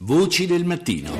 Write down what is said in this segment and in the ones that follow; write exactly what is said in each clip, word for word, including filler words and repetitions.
Voci del mattino.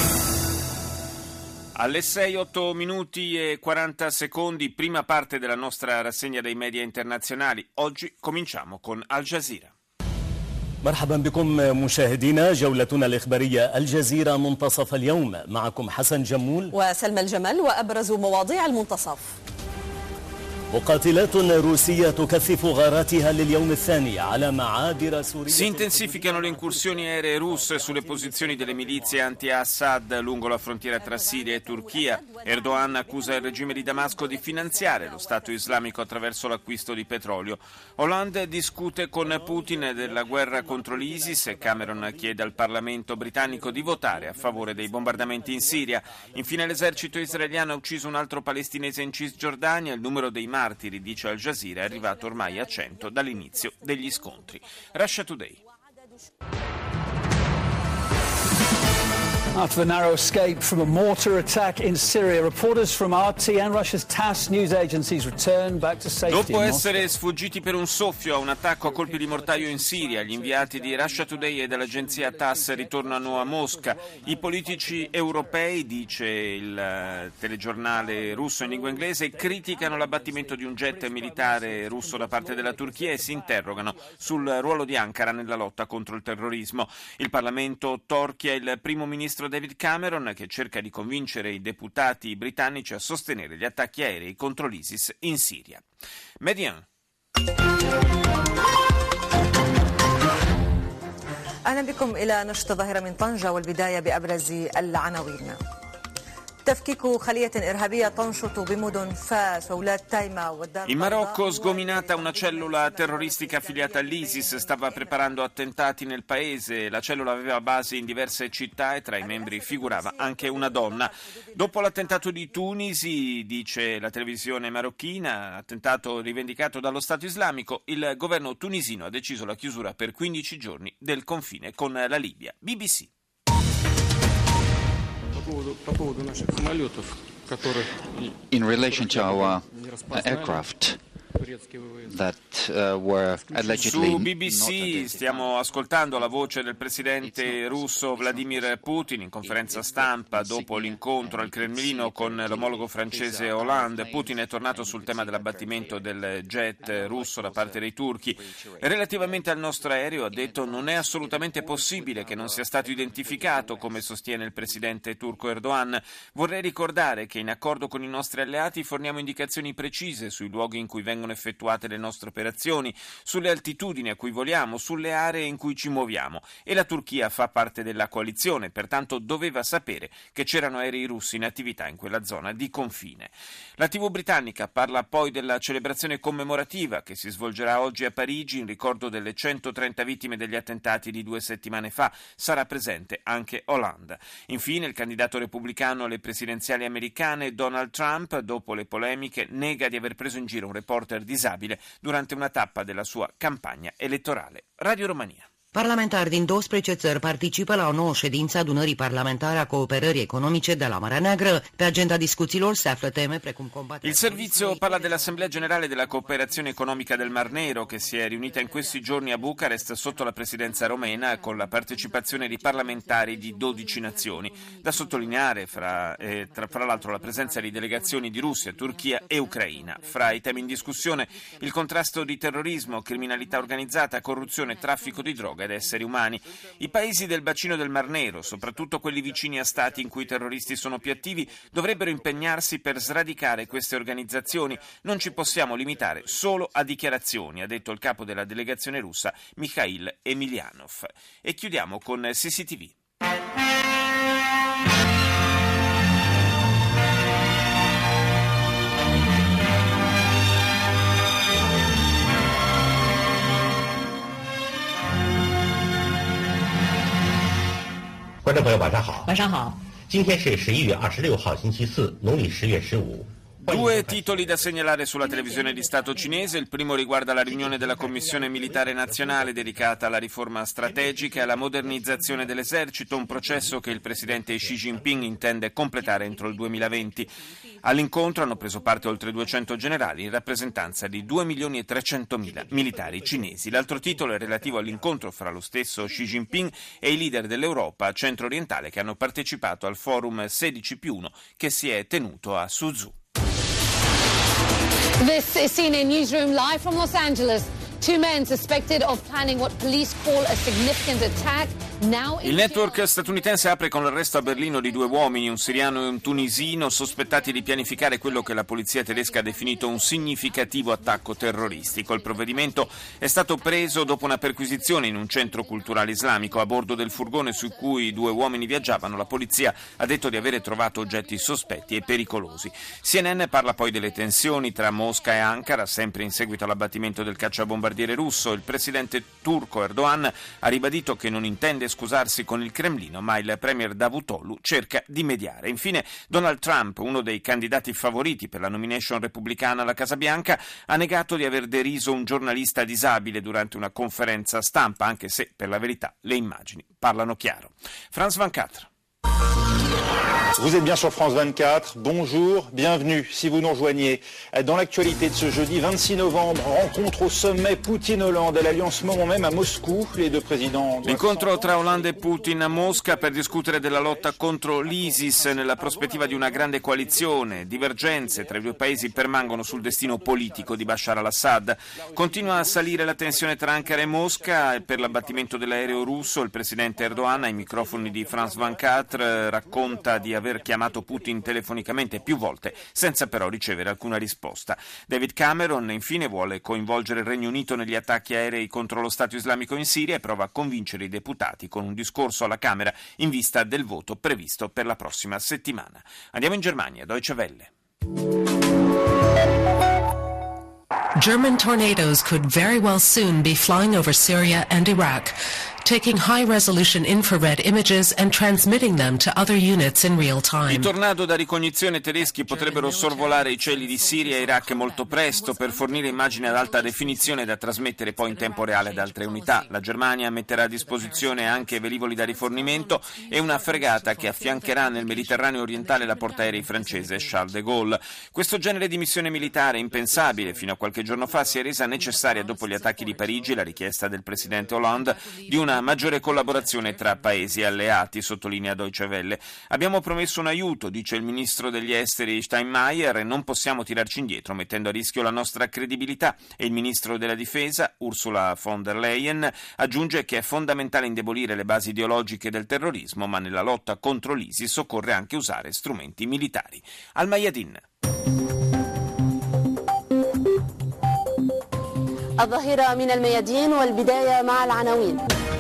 Alle sei, otto minuti e quaranta secondi, prima parte della nostra rassegna dei media internazionali. Oggi cominciamo con Al Jazeera. مرحبا بكم مشاهدينا، جولتنا الإخبارية الجزيرة منتصف اليوم، معكم حسن جمول وسلمى الجمل وأبرز مواضيع المنتصف. مقاتلات روسية تكثف غاراتها لليوم الثاني على معابر سوريا. Si intensificano le incursioni aeree russe sulle posizioni delle milizie anti-Assad lungo la frontiera tra Siria e Turchia. Erdogan accusa il regime di Damasco di finanziare lo Stato islamico attraverso l'acquisto di petrolio. Hollande discute con Putin della guerra contro l'ISIS e Cameron chiede al Parlamento britannico di votare a favore dei bombardamenti in Siria. Infine l'esercito israeliano ha ucciso un altro palestinese in Cisgiordania. Il numero dei martiri, dice Al Jazeera, è arrivato ormai a cento dall'inizio degli scontri. Russia Today. After a narrow escape from a mortar attack in Syria, reporters from R T and Russia's TASS news agencies return back to safety. Dopo essere sfuggiti per un soffio a un attacco a colpi di mortaio in Siria, gli inviati di Russia Today e dell'agenzia TASS ritornano a Mosca. I politici europei, dice il telegiornale russo in lingua inglese, criticano l'abbattimento di un jet militare russo da parte della Turchia e si interrogano sul ruolo di Ankara nella lotta contro il terrorismo. Il Parlamento torchia il primo ministro David Cameron, che cerca di convincere i deputati britannici a sostenere gli attacchi aerei contro l'ISIS in Siria. Median. أهلا بكم إلى نشرة الظاهرة من طنجة والبداية بأبرز العناوين. In Marocco, sgominata una cellula terroristica affiliata all'ISIS, stava preparando attentati nel paese. La cellula aveva base in diverse città e tra i membri figurava anche una donna. Dopo l'attentato di Tunisi, dice la televisione marocchina, attentato rivendicato dallo Stato islamico, il governo tunisino ha deciso la chiusura per quindici giorni del confine con la Libia. B B C. In relation to our aircraft that uh, were allegedly Su B B C stiamo ascoltando la voce del presidente russo Vladimir Putin in conferenza stampa dopo l'incontro al Cremlino con l'omologo francese Hollande. Putin è tornato sul tema dell'abbattimento del jet russo da parte dei turchi. Relativamente al nostro aereo, ha detto, non è assolutamente possibile che non sia stato identificato, come sostiene il presidente turco Erdogan. Vorrei ricordare che in accordo con i nostri alleati forniamo indicazioni precise sui luoghi in cui vengono effettuate le nostre operazioni, sulle altitudini a cui voliamo, sulle aree in cui ci muoviamo, e la Turchia fa parte della coalizione, pertanto doveva sapere che c'erano aerei russi in attività in quella zona di confine. La tivù britannica parla poi della celebrazione commemorativa che si svolgerà oggi a Parigi in ricordo delle centotrenta vittime degli attentati di due settimane fa. Sarà presente anche Hollande. Infine il candidato repubblicano alle presidenziali americane Donald Trump, dopo le polemiche, nega di aver preso in giro un reporter disabile durante una tappa della sua campagna elettorale. Radio Romania. Parlamentari din douăsprezece țări participă la o nouă ședință a adunării parlamentare a cooperării economice de la Marea Neagră. Pe agenda discuțiilor se află teme precum combaterea. Il servizio parla dell'Assemblea Generale della Cooperazione Economica del Mar Nero, che si è riunita in questi giorni a Bucarest sotto la presidenza romena con la partecipazione di parlamentari di dodici nazioni. Da sottolineare fra, eh, tra, fra l'altro la presenza di delegazioni di Russia, Turchia e Ucraina. Fra i temi in discussione il contrasto di terrorismo, criminalità organizzata, corruzione, traffico di droga ed esseri umani. I paesi del bacino del Mar Nero, soprattutto quelli vicini a stati in cui i terroristi sono più attivi, dovrebbero impegnarsi per sradicare queste organizzazioni. Non ci possiamo limitare solo a dichiarazioni, ha detto il capo della delegazione russa Mikhail Emelianov. E chiudiamo con C C T V. Due titoli da segnalare sulla televisione di Stato cinese. Il primo riguarda la riunione della Commissione Militare Nazionale dedicata alla riforma strategica e alla modernizzazione dell'esercito, un processo che il presidente Xi Jinping intende completare entro il duemilaventi. All'incontro hanno preso parte oltre duecento generali in rappresentanza di due milioni e trecentomila militari cinesi. L'altro titolo è relativo all'incontro fra lo stesso Xi Jinping e i leader dell'Europa centro-orientale che hanno partecipato al forum sedici più uno che si è tenuto a Suzhou. This is C N N Newsroom live from Los Angeles. Two men suspected of planning what police call a significant attack. Il network statunitense apre con l'arresto a Berlino di due uomini, un siriano e un tunisino, sospettati di pianificare quello che la polizia tedesca ha definito un significativo attacco terroristico. Il provvedimento è stato preso dopo una perquisizione in un centro culturale islamico. A bordo del furgone su cui i due uomini viaggiavano, la polizia ha detto di avere trovato oggetti sospetti e pericolosi. C N N parla poi delle tensioni tra Mosca e Ankara, sempre in seguito all'abbattimento del cacciabombardiere russo. Il presidente turco Erdogan ha ribadito che non intende scusarsi con il Cremlino, ma il premier Davutoglu cerca di mediare. Infine, Donald Trump, uno dei candidati favoriti per la nomination repubblicana alla Casa Bianca, ha negato di aver deriso un giornalista disabile durante una conferenza stampa, anche se, per la verità, le immagini parlano chiaro. France ventiquattro. Vous êtes bien sur France vingt-quatre, bonjour, bienvenue si vous nous rejoignez. Dans l'actualité de ce jeudi vingt-six novembre, rencontre au sommet Poutine-Hollande et l'alliance moment même à Moscou. Les deux présidents... L'incontro tra Hollande e Putin a Mosca per discutere della lotta contro l'ISIS nella prospettiva di una grande coalizione. Divergenze tra i due paesi permangono sul destino politico di Bashar al-Assad. Continua a salire la tensione tra Ankara e Mosca per l'abbattimento dell'aereo russo. Il presidente Erdogan ai microfoni di France ventiquattro racconta di aver chiamato Putin telefonicamente più volte senza però ricevere alcuna risposta. David Cameron infine vuole coinvolgere il Regno Unito negli attacchi aerei contro lo Stato islamico in Siria e prova a convincere i deputati con un discorso alla Camera in vista del voto previsto per la prossima settimana. Andiamo in Germania, Deutsche Welle. German tornadoes could very well soon be flying over Syria and Iraq, taking high-resolution infrared images and transmitting them to other units in real time. I tornado da ricognizione tedeschi potrebbero sorvolare i cieli di Siria e Iraq molto presto per fornire immagini ad alta definizione da trasmettere poi in tempo reale ad altre unità. La Germania metterà a disposizione anche velivoli da rifornimento e una fregata che affiancherà nel Mediterraneo orientale la portaerei francese Charles de Gaulle. Questo genere di missione militare impensabile fino a qualche giorno fa si è resa necessaria dopo gli attacchi di Parigi e la richiesta del presidente Hollande di una maggiore collaborazione tra paesi alleati, sottolinea Deutsche Welle. Abbiamo promesso un aiuto, dice il ministro degli esteri Steinmeier, e non possiamo tirarci indietro mettendo a rischio la nostra credibilità. E il ministro della difesa, Ursula von der Leyen, aggiunge che è fondamentale indebolire le basi ideologiche del terrorismo, ma nella lotta contro l'ISIS occorre anche usare strumenti militari. Al Mayadin. الظهيرة من الميادين والبداية مع العناوين.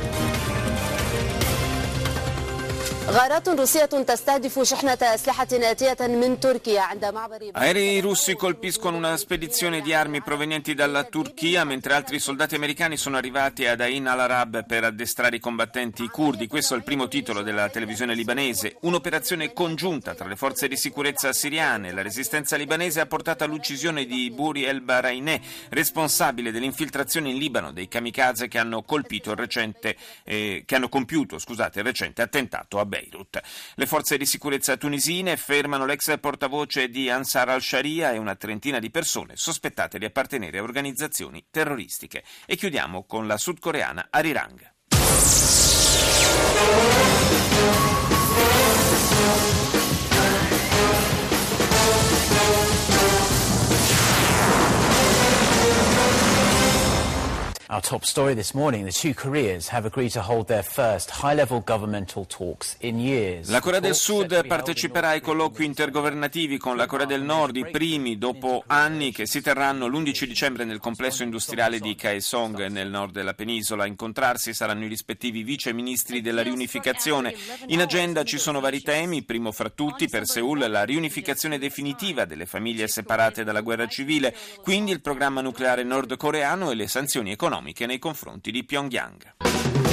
غارات روسية تستهدف شحنة أسلحة آتية من تركيا عند معبر. Aerei russi colpiscono una spedizione di armi provenienti dalla Turchia mentre altri soldati americani sono arrivati ad Ain al-Arab per addestrare i combattenti curdi. Questo è il primo titolo della televisione libanese. Un'operazione congiunta tra le forze di sicurezza siriane e la resistenza libanese ha portato all'uccisione di Buri el-Baraineh, responsabile dell'infiltrazione in Libano dei kamikaze che hanno colpito il recente eh, che hanno compiuto, scusate, il recente attentato a Beirut. Le forze di sicurezza tunisine fermano l'ex portavoce di Ansar al-Sharia e una trentina di persone sospettate di appartenere a organizzazioni terroristiche. E chiudiamo con la sudcoreana Arirang. Our top story this morning, the two Koreas have agreed to hold their first high-level governmental talks in years. La Corea del Sud parteciperà ai colloqui intergovernativi con la Corea del Nord, i primi dopo anni, che si terranno l'undici dicembre nel complesso industriale di Kaesong nel nord della penisola. A incontrarsi saranno i rispettivi vice ministri della riunificazione. In agenda ci sono vari temi, primo fra tutti per Seoul la riunificazione definitiva delle famiglie separate dalla guerra civile, quindi il programma nucleare nordcoreano e le sanzioni economiche nei confronti di Pyongyang.